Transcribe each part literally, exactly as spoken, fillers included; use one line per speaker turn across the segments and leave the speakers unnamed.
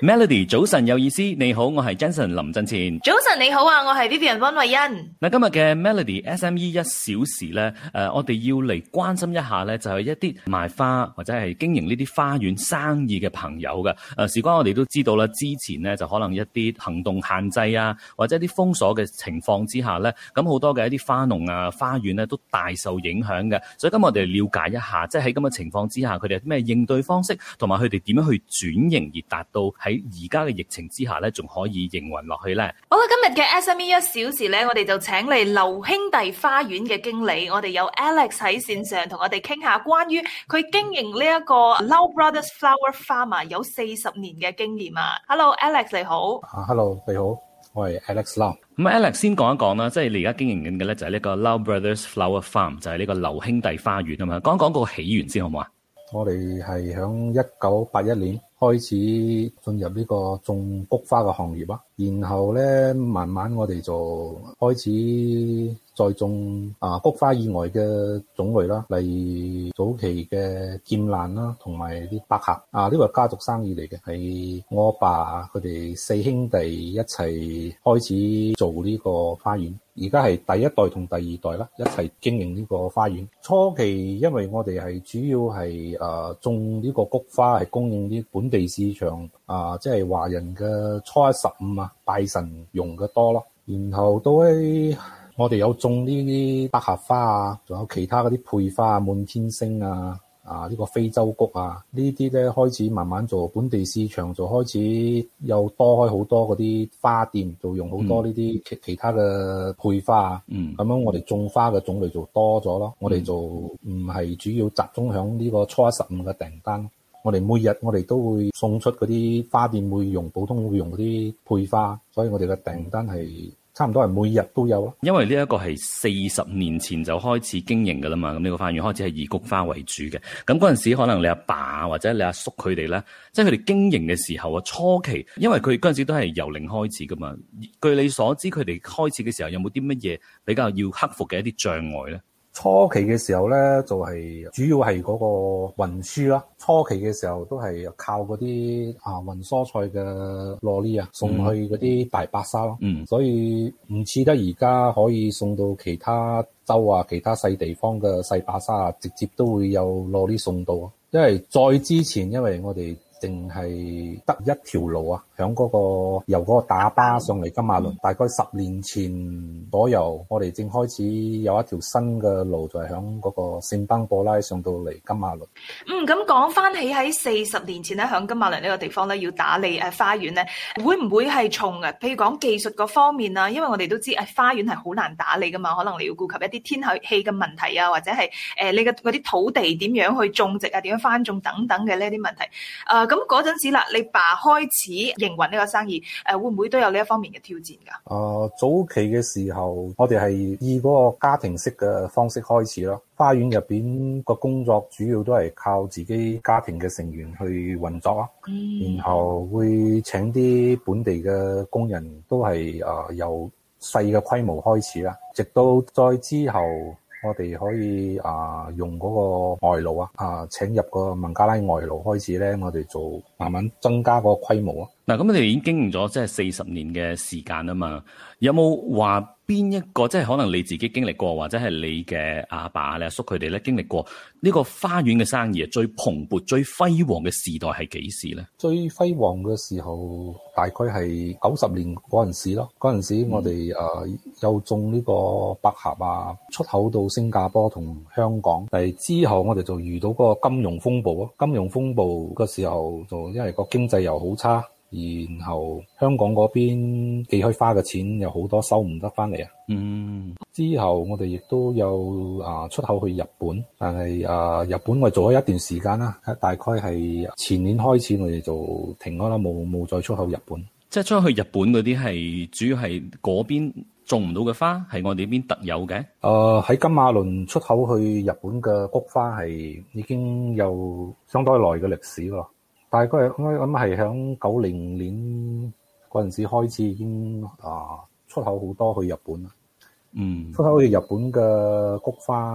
Melody 早晨有意思，你好，我係 Jensen 林振前。
早晨你好啊，我係 Vivian 溫慧欣。
嗱，今日嘅 Melody S M E 一小時咧，誒、呃，我哋要嚟關心一下咧，就係、是、一啲賣花或者係經營呢啲花園生意嘅朋友嘅。誒、呃，事關我哋都知道啦，之前咧就可能一啲行動限制啊，或者一啲封鎖嘅情況之下咧，咁好多嘅一啲花農啊、花園咧都大受影響嘅。所以今日我哋了解一下，即係喺咁嘅情況之下，佢哋有啲咩應對方式，同埋佢哋點樣去轉型而達到喺而家嘅疫情之下咧，仲可以營運落去咧。
好啦，今日嘅 S M E 一小時咧，我哋就請嚟劉兄弟花園嘅經理，我哋有 Alex 喺線上同我哋傾下關於佢經營呢一個 Lau Brothers Flower Farm 有四十年嘅經驗啊。Hello，Alex 你好。
啊、uh,，Hello 你好，我係 Alex Lau。
咁 Alex 先講一講啦，即係你而家經營緊嘅咧就係呢個 Lau Brothers Flower Farm， 就係呢個劉兄弟花園啊嘛。講一講個起源先好唔好啊？
我哋係響一九八一年開始進入呢個種菊花嘅行業啊，然後咧慢慢我哋就開始再種啊菊花以外嘅種類啦，例如早期嘅劍蘭啦，同埋啲百合啊，呢個係家族生意嚟嘅，係我阿爸佢哋四兄弟一齊開始做呢個花園。而家係第一代同第二代啦，一齊經營呢個花園。初期因為我哋係主要係誒、呃、種呢個菊花係供應啲本地市場啊、呃，即係華人嘅初一十五啊拜神用嘅多咯。然後到喺我哋有種呢啲百合花啊，仲有其他嗰啲配花啊，滿天星啊。啊！呢、這個非洲菊啊，呢啲咧開始慢慢做本地市場，就開始又多開好多嗰啲花店，就用好多呢啲其其他嘅配花啊。嗯，咁樣我哋種花嘅種類就多咗咯。嗯、我哋就唔係主要集中響呢個初一十五嘅訂單。我哋每日我哋都會送出嗰啲花店會用普通會用嗰啲配花，所以我哋嘅訂單係差唔多係每日都有咯。
因為呢一個係四十年前就開始經營噶啦嘛，咁呢個花園開始係以菊花為主嘅。咁嗰陣時可能你阿爸或者你阿叔佢哋咧，即係佢哋經營嘅時候啊，初期因為佢嗰陣時都係由零開始噶嘛。據你所知，佢哋開始嘅時候有冇啲乜嘢比較要克服嘅一啲障礙咧？
初期嘅時候咧，就係、是、主要係嗰個運輸啦。初期嘅時候都係靠嗰啲啊運蔬菜嘅羅哩啊送去嗰啲大白沙咯。嗯，所以唔似得而家可以送到其他州啊、其他細地方嘅細白沙啊，直接都會有羅哩送到。因為再之前，因為我哋淨係得一條路啊，響嗰、那個由嗰個打巴上嚟金馬倫，大概十年前左右，我哋正開始有一條新嘅路，就係響嗰個聖邦布拉上到嚟金馬倫。
嗯，咁講翻起喺四十年前咧，響金馬倫呢個地方咧，要打理誒花園咧，會唔會係從誒，譬如講技術嗰方面啊？因為我哋都知誒花園係好難打理噶嘛，可能你要顧及一啲天氣嘅問題啊，或者係誒、呃、你嘅嗰啲土地點樣去種植啊，點樣翻種等等嘅呢啲問題。誒、呃，咁嗰陣時啦，你爸開始營運呢個生意，誒、呃、會唔會都有呢一方面嘅挑戰㗎？
誒、呃，早期嘅時候，我哋係以嗰個家庭式嘅方式開始咯。花園入邊個工作主要都係靠自己家庭嘅成員去運作啊，嗯、然後會請啲本地嘅工人，都係誒、呃、由細嘅規模開始啦，直到再之後。我哋可以啊、呃、用嗰個外勞啊啊請入個孟加拉外勞開始咧，我哋就慢慢增加個規模啊。
嗱，咁你哋已經經營咗即係四十年嘅時間啊嘛，有冇話邊一個即係可能你自己經歷過，或者係你嘅阿爸、你阿叔佢哋咧經歷過呢個花園嘅生意啊，最蓬勃、最輝煌嘅時代係幾時咧？
最輝煌嘅時候大概係九十年嗰陣時咯。嗰陣時我哋誒、嗯呃、有種呢個百合啊，出口到新加坡同香港。但係之後我哋就遇到嗰個金融風暴啊。金融風暴嘅時候就因為個經濟又好差。然後香港嗰邊寄開花嘅錢有好多收唔得翻嚟啊！嗯，之後我哋亦都有啊出口去日本，但係啊日本我哋做咗一段時間啦，大概係前年開始我哋就停咗啦，冇冇再出口日本。
即係出去日本嗰啲係主要係嗰邊種唔到嘅花，係我哋呢邊特有嘅。
誒喺金馬倫出口去日本嘅菊花係已經有相當耐嘅歷史咯。大概我諗係響九零年嗰陣時開始已經啊出口好多去日本啦。嗯，出口去日本嘅菊花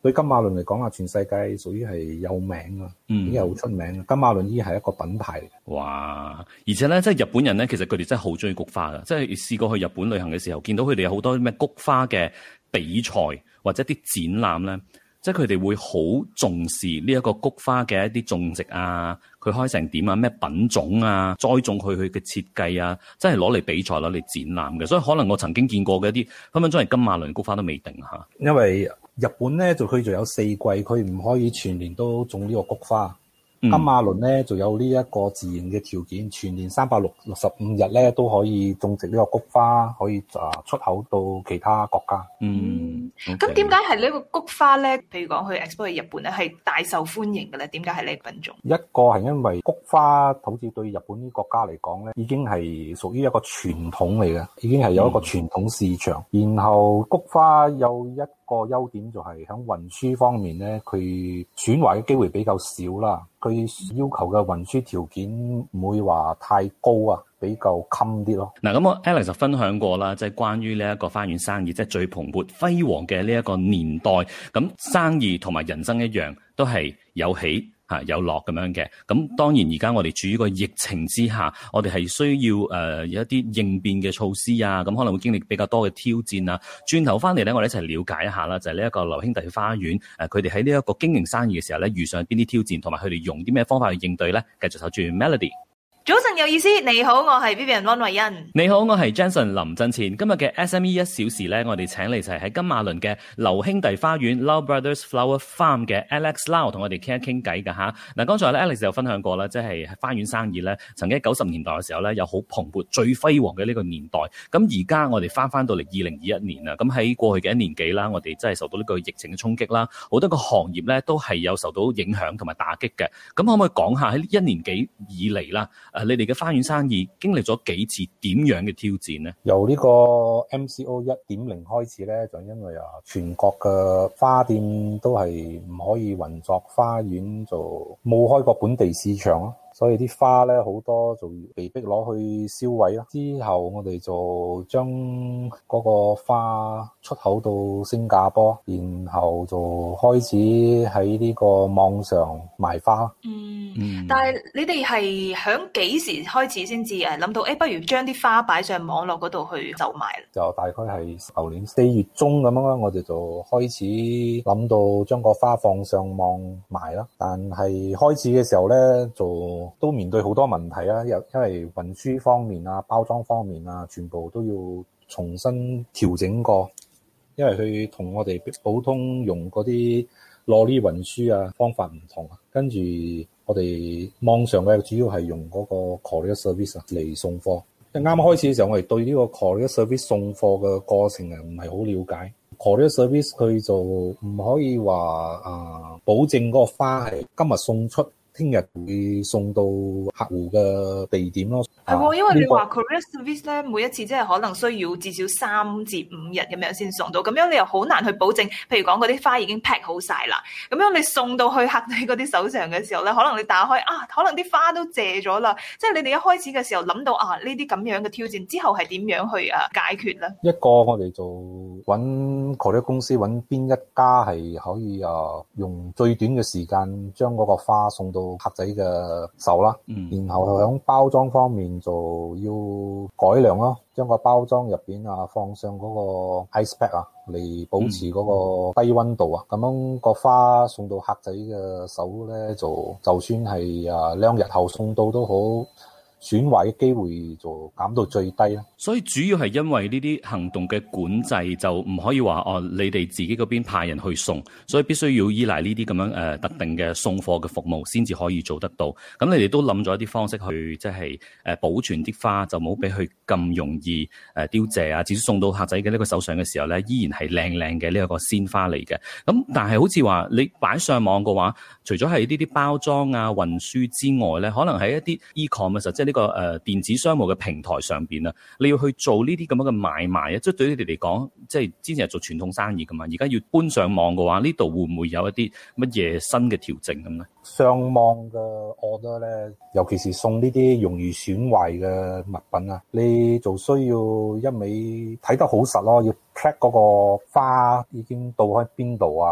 對金馬倫嚟講啊，全世界屬於係有名啊，
嗯，
已經係好出名。金馬倫已經係一個品牌。
哇！而且咧，即係日本人咧，其實佢哋真係好中意菊花噶。即係試過去日本旅行嘅時候，見到佢哋有好多咩菊花嘅比賽或者啲展覽咧。即係佢哋會好重視呢一個菊花嘅一啲種植啊，佢開成點啊，咩品種啊，栽種佢佢嘅設計啊，真係攞嚟比賽攞嚟展覽嘅。所以可能我曾經見過嘅一啲分分鐘係金馬倫菊花都未定嚇。
因為日本咧就佢就有四季，佢唔可以全年都種呢個菊花。金馬倫咧就有呢一個自然嘅條件，全年三百六十五日咧都可以種植呢個菊花，可以啊出口到其他國家。
嗯，
咁點解係呢個菊花咧？譬如講去 export 去日本咧，係大受歡迎嘅咧？點解係呢個品種？
一個係因為菊花好似對日本啲國家嚟講咧，已經係屬於一個傳統嚟嘅，已經係有一個傳統市場。嗯、然後菊花有一個優點就係喺運輸方面咧，佢損壞嘅機會比較少啦。佢要求嘅運輸條件唔會話太高啊，比較襟啲咯。
嗱，咁我 Alex 就分享過啦，即係關於呢一個花園生意，即係最蓬勃輝煌嘅呢一個年代。咁生意同埋人生一樣，都係有起嚇有落咁樣嘅。咁當然而家我哋處於個疫情之下，我哋係需要誒、呃、有一啲應變嘅措施啊。咁可能會經歷比較多嘅挑戰啊。轉頭翻嚟咧，我哋一齊了解一下啦，就係呢一個劉兄弟花園誒，佢哋喺呢一個經營生意嘅時候咧，遇上邊啲挑戰，同埋佢哋用啲咩方法去應對咧？繼續守住 Melody。
早晨有意思，你好，我係 Vivian 溫慧欣。
你好，我係 Jenson 林振前。今日嘅 S M E 一小時咧，我哋請嚟就係喺金馬倫嘅劉兄弟花園 Lau Brothers Flower Farm 嘅 Alex Lau 同我哋傾一傾偈㗎吓。嗱，剛才咧 Alex 有分享過啦，即係花園生意咧，曾經喺九十年代嘅時候咧，有好蓬勃、最輝煌嘅呢個年代。咁而家我哋翻翻到嚟二零二一年啦，咁喺過去嘅一年幾啦，我哋真係受到呢個疫情嘅衝擊啦，好多個行業咧都係有受到影響同埋打擊嘅。咁可唔可以講下喺一年幾以嚟啦？誒，你哋嘅花園生意經歷咗幾次點樣嘅挑戰呢？
由呢個 M C O 一點零開始咧，就因為啊，全國嘅花店都係唔可以運作，花園就冇開過本地市場咯。所以啲花咧好多就被逼攞去銷毀啦。之後我哋就將嗰個花出口到新加坡，然後就開始喺呢個網上賣花。
嗯，嗯但係你哋係響幾時開始先至誒諗到誒、欸，不如將啲花擺上網絡嗰度去售賣？就
大概係舊年四月中咁樣啦，我哋就開始諗到將個花放上網賣啦。但係開始嘅時候咧就都面對好多問題啊，因因為運輸方面啊、包裝方面啊，全部都要重新調整過。因為佢同我哋普通用嗰啲羅哩運輸啊方法唔同啊。跟住我哋網上嘅主要係用嗰個 courier service 嚟送貨。啱啱開始嘅時候，我哋對呢個 courier service 送貨嘅過程啊唔係好了解。courier service 佢就唔可以話啊、呃、保證嗰個花係今日送出，聽日會送到客戶嘅地點咯。
係喎，因為你話 courier service 咧，每一次即係可能需要至少三至五日咁樣先送到，咁樣你又好難去保證。譬如講嗰啲花已經 pack 好晒啦，咁樣你送到去客仔嗰啲手上嘅時候咧，可能你打開啊，可能啲花都謝咗啦。即係你哋一開始嘅時候諗到啊，呢啲咁樣嘅挑戰之後係點樣去啊解決咧？
一個我哋就揾 courier公司，揾邊一家係可以啊用最短嘅時間將嗰個花送到客仔嘅手啦，嗯、然後喺包裝方面就要改良咯，將個包裝入邊啊放上嗰個 ice pack 啊，嚟保持嗰個低溫度啊，咁、嗯、樣個花送到客仔嘅手咧，就就算係啊兩日後送到都好，損壞嘅機會就減到最低啦。
所以主要係因為呢啲行動嘅管制，就唔可以話哦，你哋自己嗰邊派人去送，所以必須要依賴呢啲咁樣誒、呃、特定嘅送貨嘅服務先至可以做得到。咁你哋都諗咗一啲方式去即係誒保存啲花，就冇俾佢咁容易誒、呃、凋謝啊。至少送到客仔嘅呢個手上嘅時候咧，依然係靚靚嘅呢一個鮮花嚟嘅。咁但係好似話你擺上網嘅話，除咗係呢啲包裝啊、運輸之外咧，可能喺一啲 e-commerce 即係呢個誒、呃、電子商務嘅平台上邊啊，你要去做呢啲咁樣嘅買賣啊，即係對於你哋嚟講，即係之前係做傳統生意噶嘛，而家要搬上網嘅話，呢度會唔會有一啲乜嘢新嘅調整咁咧？
上網嘅 order 咧，尤其是送呢啲容易損壞嘅物品啊，你就需要一味睇得好實咯，要 track 嗰個花已經到喺邊度啊，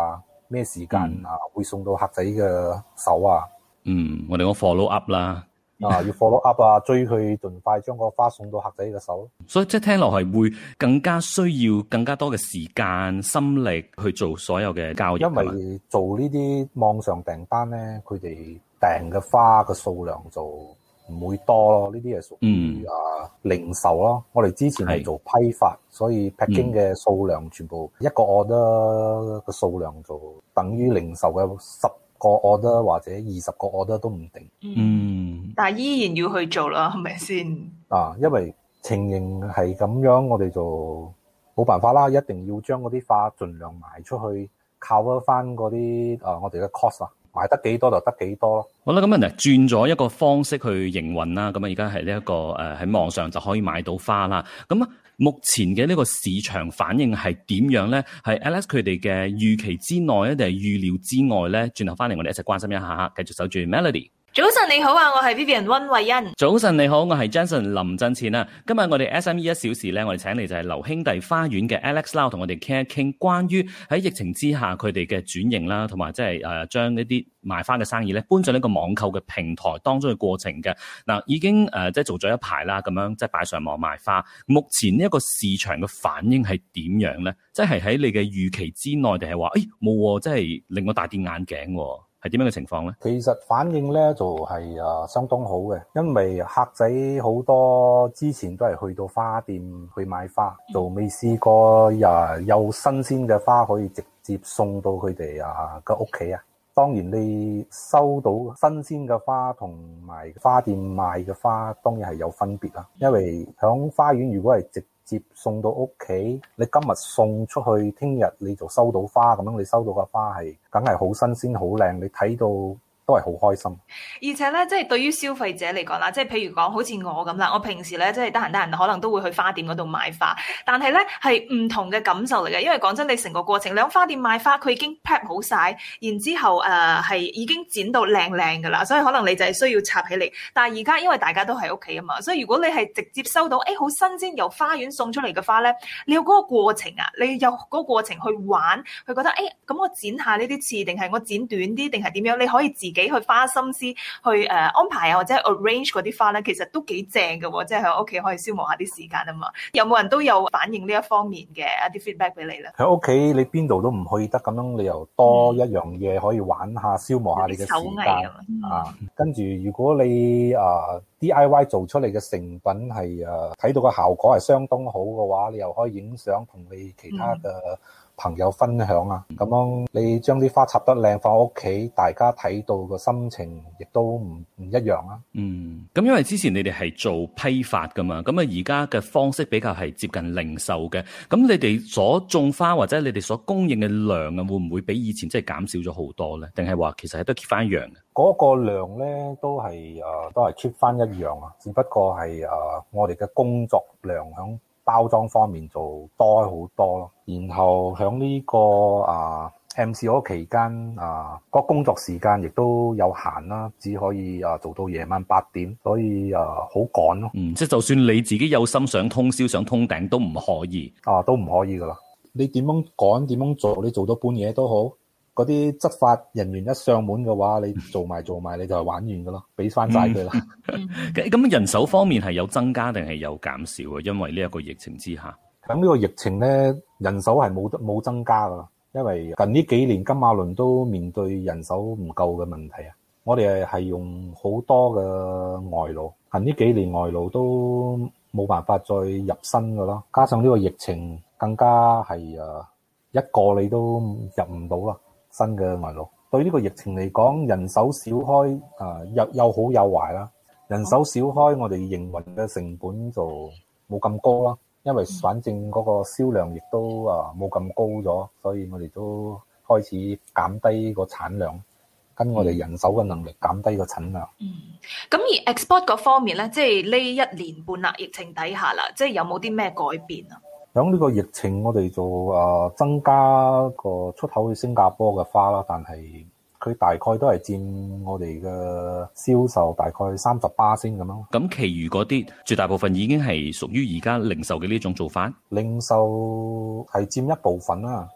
咩時間啊會送到客仔嘅手啊。
嗯，我哋講 follow up 啦。
啊，要 follow up 啊，追佢盡快將個花送到客仔嘅手。
所以即係聽落係會更加需要更加多嘅時間心力去做所有嘅交易。
因為做呢啲網上訂單咧，佢哋訂嘅花嘅數量就唔會多咯。呢啲係屬於啊零售咯。我哋之前係做批發，所以 packing 嘅數量全部一個 order 嘅數量就等於零售嘅十個 order 或者二十個 order 都唔定。
嗯，
但係依然要去做啦，係咪先？
啊，因為情形係咁樣，我哋就冇辦法啦，一定要將嗰啲花盡量賣出去，靠翻嗰啲啊我哋嘅 cost 啊，賣得幾多就得幾多咯。
好啦，咁啊，轉咗一個方式去營運啦，咁啊，而家係呢一個誒喺網上就可以買到花啦。咁啊，目前嘅呢個市場反應係點樣咧？係 Alex 佢哋嘅預期之內咧，定係預料之外咧？轉頭翻嚟，我哋一齊關心一下，繼續守住 Melody。
早晨你好啊，我係 Vivian 溫慧欣。
早晨你好，我係 Jensen 林振前啊。今日我哋 S M E 一小時咧，我哋請嚟就係劉兄弟花園嘅 Alex Lau 同我哋傾一傾關於喺疫情之下佢哋嘅轉型啦，同埋即係誒將呢啲賣花嘅生意咧搬上呢個網購嘅平台當中嘅過程嘅。嗱，已經誒即係做咗一排啦，咁樣即係擺上網賣花。目前呢一個市場嘅反應係點樣咧？即係喺你嘅預期之內，定係話誒冇，即係令我大跌眼鏡？係點樣嘅情況咧？
其實反應咧就係誒相當好嘅，因為客仔好多之前都係去到花店去買花，就未試過誒有新鮮嘅花可以直接送到佢哋啊嘅屋企啊。當然你收到新鮮嘅花同埋花店賣嘅花，當然係有分別啦。因為響花園如果係直接送到屋企，你今日送出去，聽日你就收到花，咁樣你收到嘅花係梗係好新鮮好靚，你睇到都係好開心。
而且咧，即係對於消費者嚟講啦，即係譬如講好似我咁啦，我平時咧即係得閒得閒，可能都會去花店嗰度買花，但係咧係唔同嘅感受嚟嘅。因為講真，你成個過程，你喺花店買花，佢已經 prep 好晒，然之後誒係、呃、已經剪到靚靚噶啦，所以可能你就係需要插起嚟。但係而家因為大家都喺屋企啊嘛，所以如果你係直接收到誒好新鮮由花園送出嚟嘅花咧，你有嗰個過程啊，你有嗰個過程去玩，去覺得誒咁、欸、我剪下呢啲刺，定係我剪短啲，定係點樣？你可以自己去花心思去誒、呃、安排啊，或者 arrange 嗰啲花咧，其實都幾正嘅喎，即係喺屋企可以消磨下啲時間啊嘛。有冇人都有反映呢一方面嘅一啲 feedback 俾你咧？
喺屋企你邊度都唔去得，咁樣你又多一樣嘢可以玩下，消磨下你嘅時間、嗯、啊。跟住如果你啊、呃、D I Y 做出嚟嘅成品係誒睇到個效果係相當好嘅話，你又可以影相同你其他嘅、嗯朋友分享啊，咁樣你將啲花插得靚放屋企，大家睇到個心情亦都唔唔一樣啊。
嗯，咁因為之前你哋係做批發噶嘛，咁啊而家嘅方式比較係接近零售嘅，咁你哋所種花或者你哋所供應嘅量啊，會唔會比以前即係減少咗好多咧？定係話其實係都 keep 翻一樣嘅？
嗰個量咧都係誒、呃、都係 keep 翻一樣啊，只不過係誒、呃、我哋嘅工作量響包裝方面就多好多咯，然後喺呢、這個啊 M C O 期間啊，個工作時間亦都有限啦，只可以啊做到夜晚八點，所以啊好趕咯。
嗯，即係就算你自己有心想通宵想通頂都唔可以
啊，都唔可以噶啦。你點樣趕點樣做，你做到半夜都好。嗰啲執法人員一上門嘅話，你做埋做埋你就係玩完噶咯，俾翻晒佢啦。
咁人手方面係有增加定係有減少啊？因為呢一個疫情之下，
咁呢個疫情咧，人手係冇冇增加噶啦。因為近呢幾年金馬倫都面對人手唔夠嘅問題啊。我哋係用好多嘅外勞，近呢幾年外勞都冇辦法再入新噶啦。加上呢個疫情，更加係誒一個你都入唔到啦。新嘅外勞對呢個疫情嚟講，人手少開啊，又又好有壞啦。人手少開，我哋營運嘅成本就冇咁高啦。因為反正嗰個銷量亦都啊冇咁高咗，所以我哋都開始減低個產量，跟我哋人手嘅能力減低個產量。
嗯，咁而 export 嗰方面咧，即係呢一年半啦，疫情底下啦，即係有冇啲咩改變啊？
響呢個疫情，我哋就誒增加個出口去新加坡嘅花啦，但係佢大概都係佔我哋嘅銷售大概三十巴仙咁樣。
咁，其餘嗰啲絕大部分已經係屬於而家零售嘅呢種做法。
零售係佔一部分啦，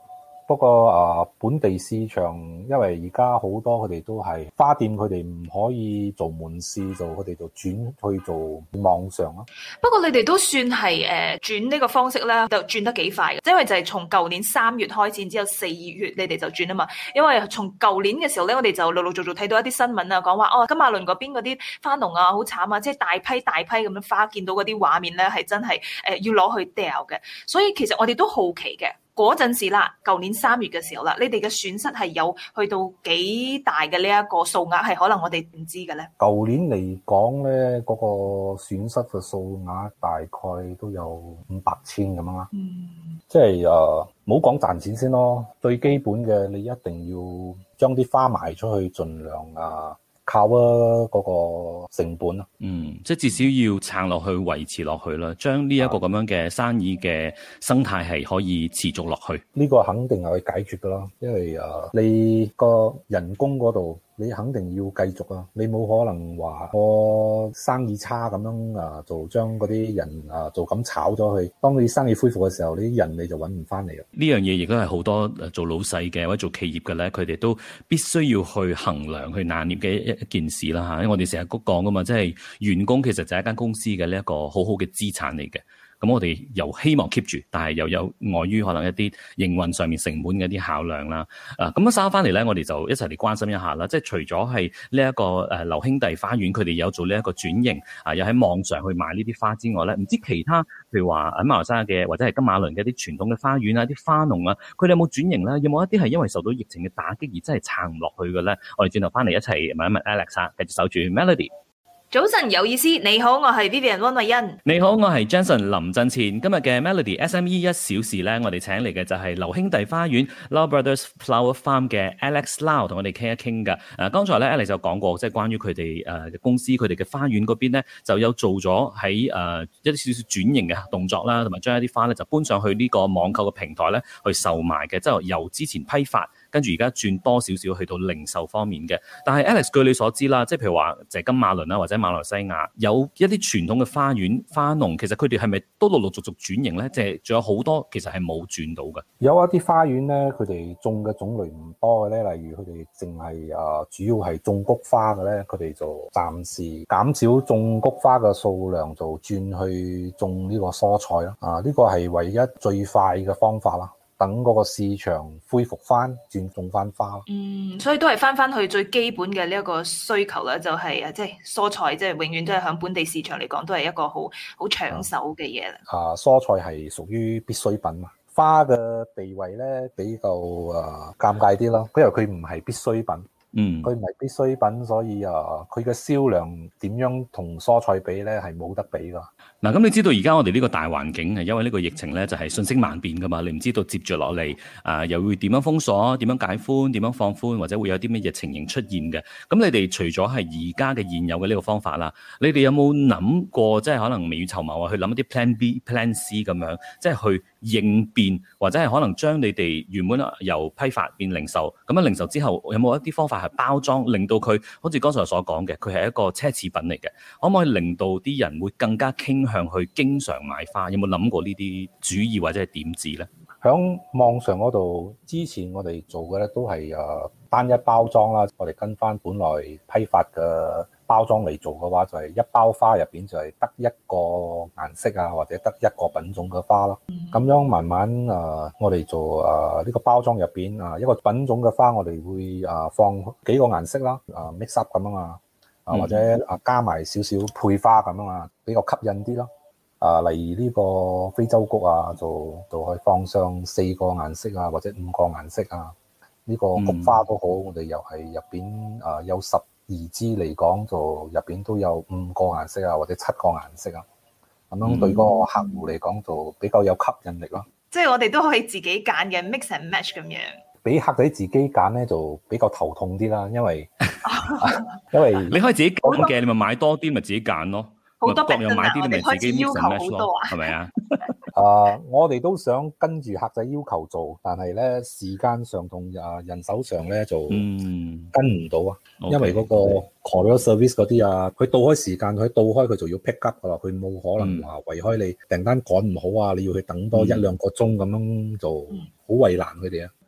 不過啊、呃，本地市場因為而家好多佢哋都係花店，佢哋唔可以做門市，就佢哋就轉去做網上咯。
不過你哋都算係誒轉呢個方式咧，就轉得幾快嘅，因為就係從舊年三月開始，之後四月你哋就轉啊嘛。因為從舊年嘅時候咧，我哋就陸陸續續睇到一啲新聞啊，講話哦，金馬倫嗰邊嗰啲花農啊，好慘啊，即係大批大批咁樣花，見到嗰啲畫面咧，係真係誒、呃、要攞去掉嘅。所以其實我哋都好奇嘅。嗰陣時啦，舊年三月嘅時候啦，你哋嘅損失係有去到幾大嘅呢一個數額，係可能我哋唔知嘅咧。
舊年嚟講咧，嗰、那個損失嘅數額大概都有五百千咁樣啦。嗯，即係誒，唔好講賺錢先咯，最基本嘅你一定要將啲花賣出去，盡量啊。靠啊嗰個成本啊，
嗯，即係至少要撐落去，維持落去啦，將呢一個咁樣嘅生意嘅生態係可以持續落去。
呢個肯定係可以解決噶啦，因為啊，你個人工嗰度你肯定要繼續啊，你冇可能話我生意差咁樣啊，就將嗰啲人啊就咁炒咗去。當你生意恢復嘅時候，你啲人你就揾唔翻嚟啦。
呢樣嘢亦都係好多做老細嘅或者做企業嘅咧，佢哋都必須要去衡量、去拿捏嘅一一件事啦嚇。因為我哋成日都講噶嘛，即係員工其實就係一間公司嘅呢一個好好嘅資產嚟嘅。咁我哋又希望 keep 住，但係又有礙於可能一啲營運上面成本嘅一啲考量啦。啊，咁樣稍翻嚟咧，我哋就一齊嚟關心一下啦。即係除咗係呢一個誒劉兄弟花園，佢哋有做呢一個轉型，啊，又喺網上去賣呢啲花之外咧，唔知其他譬如話喺馬來西亞嘅或者係金馬倫嘅一啲傳統嘅花園啊、啲花農啊，佢哋有冇轉型咧？有冇一啲係因為受到疫情嘅打擊而真係撐唔落去嘅咧？我哋轉頭翻嚟一齊問一問 Alex 啊，繼續守住 Melody。
早晨有意思，你好，我係 Vivian 溫慧欣。
你好，我係 Jenson 林振前。今日嘅 Melody S M E 一小時咧，我哋請嚟嘅就係劉兄弟花園 Lau Brothers Flower Farm 嘅 Alex Lau 同我哋傾一傾噶。誒、啊，剛才咧 Alex 就講過，即係關於佢哋誒公司佢哋嘅花園嗰邊咧，就有做咗喺誒一啲少少轉型嘅動作啦，同埋將一啲花咧就搬上去呢個網購嘅平台咧去售賣嘅，即係由之前批發。跟住而家轉多少少去到零售方面嘅，但係 Alex 據你所知啦，即係譬如話就係金馬倫啦，或者馬來西亞有一啲傳統嘅花園花農，其實佢哋係咪都陸陸續續轉型咧？即係仲有好多其實係冇轉到嘅。
有一啲花園咧，佢哋種嘅種類唔多嘅咧，例如佢哋淨係啊主要係種菊花嘅咧，佢哋就暫時減少種菊花嘅數量，就轉去種呢個蔬菜啦。啊，呢個係唯一最快嘅方法啦。等嗰個市場恢復翻，轉種翻花。
嗯，所以都係翻翻去最基本嘅呢一個需求啦，就係誒，即係蔬菜，即係永遠都係響本地市場嚟講，都係一個好好搶手嘅嘢啦。
啊，蔬菜係屬於必需品嘛，花嘅地位咧比較誒、呃、尷尬啲咯，因為佢唔係必需品。嗯，佢唔係必需品，所以啊，佢嘅銷量點樣同蔬菜比咧，係冇得比噶。
嗱，咁你知道而家我哋呢個大環境係因為呢個疫情咧，就係瞬息萬變噶嘛，你唔知道接住落嚟啊，又會點樣封鎖、點樣解寬、點樣放寬，或者會有啲乜嘢情形出現嘅。咁你哋除咗係而家嘅現有嘅呢個方法啦，你哋有冇諗過即係可能未雨綢繆啊，去諗一啲 plan B、plan C 咁樣，即係去應變，或者係可能將你哋原本由批發變零售，咁樣零售之後有冇一啲方法係包裝，令到佢好似剛才所講嘅，佢係一個奢侈品嚟嘅，可唔可以令到啲人會更加傾向去經常買花？有冇諗過呢啲主意或者係點子咧？
響網上嗰度，之前我哋做嘅咧都係誒單一包裝啦，我哋跟翻本來批發嘅包裝嚟做嘅話，就係一包花入邊就係得一個顏色啊，或者得一個品種嘅花咯。咁樣慢慢誒，我哋做誒呢個包裝入邊啊，一個品種嘅花，我哋會誒放幾個顏色啦，誒 mix up 咁樣啊，啊或者誒加埋少少配花咁樣啊，比較吸引啲咯。啊，例如呢個非洲菊啊，就就可以放上四個顏色啊，或者五個顏色啊。呢、這個菊花都好，嗯、我哋又係入邊啊有十二支嚟講，就入邊都有五個顏色啊，或者七個顏色啊。咁樣對嗰個客戶嚟講，就比較有吸引力咯。
即係我哋都可以自己揀嘅 mix and match 咁樣。
俾客仔自己揀咧，就比較頭痛啲啦，因為因為
你可以自己揀嘅，你咪買多啲，咪自己揀咯。
好多
各樣買啲，你咪自己
要求好多啊，
係咪啊？
啊，我哋都想跟住客仔要求做，但係咧時間上同啊人手上咧就跟唔到啊，嗯、因為嗰個 courier service 嗰啲啊，佢到開時間，佢到開佢就要 pick up 噶啦，佢冇可能話為開你訂單趕唔好啊，你要去等多一兩個鐘咁樣就好為難佢哋啊。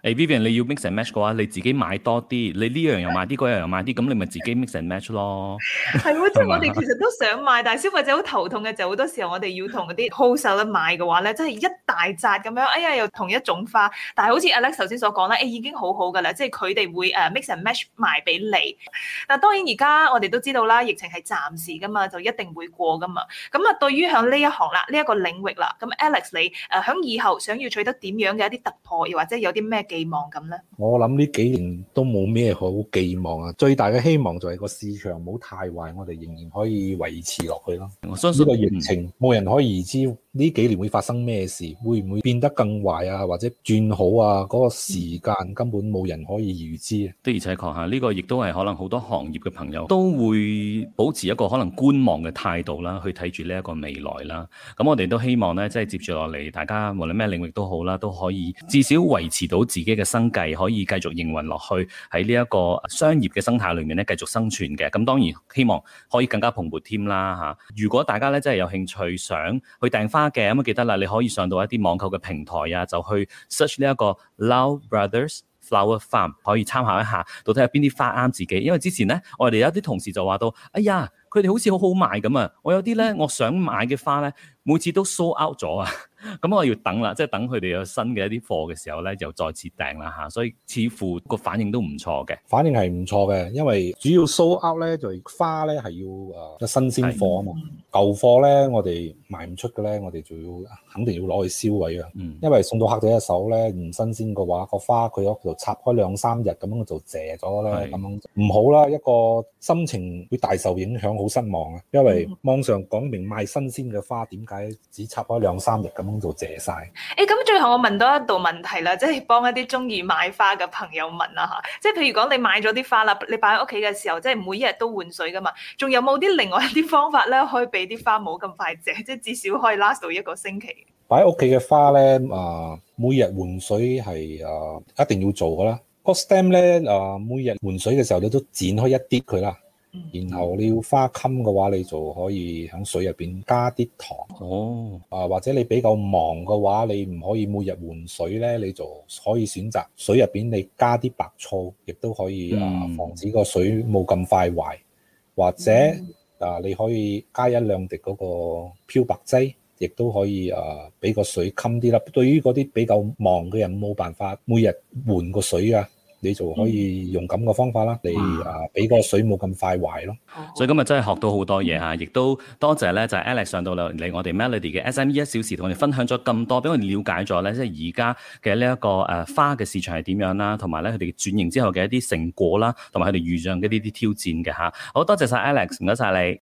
誒 Vivian 你要 mix and match 嘅話，你自己買多啲，你呢樣又買啲，嗰樣又買啲，咁你咪自己 mix and match 咯。
係喎，即係我哋其實都想買，但係消費者好頭痛嘅就好多時候我哋要同嗰啲 wholesaler 買嘅話咧，真係一大扎咁樣，哎呀又同一種花，但係好似 Alex 頭先所講咧，誒、哎、已經好好㗎啦，即係佢哋會誒 mix and match 賣俾你。但係當然而家我哋都知道啦，疫情係暫時㗎嘛，就一定會過㗎嘛。咁啊，對於響呢一行啦，呢、這、一個領域啦，咁 Alex 你誒響以後想要取得點樣嘅一啲突破，又或者有啲咩寄望咁咧？
我諗呢幾年都冇咩好寄望啊，最大嘅希望就係個市場唔好太壞，我哋仍然可以維持落去咯。
我相信
呢個疫情冇人可以預知呢幾年會發生咩事，會唔會變得更壞啊，或者轉好啊？嗰、那個時間根本冇人可以預知啊。
的而且確嚇，呢、這個亦都係可能好多行業嘅朋友都會保持一個可能觀望嘅態度啦，去睇住呢一個未來啦。咁我哋都希望咧，即係接住落嚟，大家無論咩領域都好啦，都可以至少維持到自己嘅生計，可以繼續營運落去，喺呢一個商業嘅生態裏面咧繼續生存嘅。咁當然希望可以更加蓬勃添啦嚇。如果大家咧真係有興趣想去訂花嘅，咁記得啦，你可以上到一啲網購嘅平台啊，就去 search 呢一個 Lau Brothers Flower Farm， 可以參考一下，到底有邊啲花啱自己。因為之前咧，我哋有啲同事就話到，哎呀，佢哋好似好好賣咁啊！我有啲咧，我想買嘅花咧，每次都 sold out 咗啊！咁我要等啦，即係等佢哋有新嘅一啲貨嘅時候咧，就再次訂啦嚇。所以似乎個反應都唔錯嘅。
反應係唔錯嘅，因為主要 sold out 咧就係花咧係要誒新鮮貨啊嘛。舊貨咧我哋賣唔出嘅咧，我哋就要肯定要攞去銷毀啊。嗯、因為送到客仔一手咧唔新鮮嘅話，個花佢喺度插開兩三日咁樣就謝咗咧，咁樣唔好啦。一個心情會大受影響，好失望啊！因為網上講明賣新鮮嘅花，點解只插開兩三日咁樣就謝晒？
誒，咁最後我問多一道問題啦，即係幫一啲中意買花嘅朋友問啦嚇。即係譬如講你買咗啲花啦，你擺喺屋企嘅時候，即係每一日都換水噶嘛，仲有冇啲另外一啲方法咧，可以俾啲花冇咁快謝，即係至少可以 last 到一個星期？
擺喺屋企嘅花咧，啊、呃，每日換水係啊、呃、一定要做噶啦。個 stem 咧啊，每日換水嘅時候你都剪開一啲佢啦。然後你要花襟嘅話，你就可以喺水入邊加啲糖。哦，啊或者你比較忙嘅話，你唔可以每日換水咧，你就可以選擇水入邊你加啲白醋，亦都可以啊防止個水冇咁快壞。或者啊你可以加一兩滴嗰個漂白劑，亦都可以啊俾個水襟啲啦。對於嗰啲比較忙嘅人冇辦法每日換個水啊，你就可以用咁嘅方法啦，嚟啊俾個水冇咁快壞咯。
所以今日真係學到好多嘢嚇，亦都多謝咧就係 Alex 上到嚟我哋 Melody 嘅 S M E 一小時，同我哋分享咗咁多，俾我哋了解咗咧，即係而家嘅呢一個誒花嘅市場係點樣啦，同埋咧佢哋轉型之後嘅一啲成果啦，同埋佢哋遇上嘅呢啲挑戰嘅嚇。好多謝晒 Alex，唔該晒你。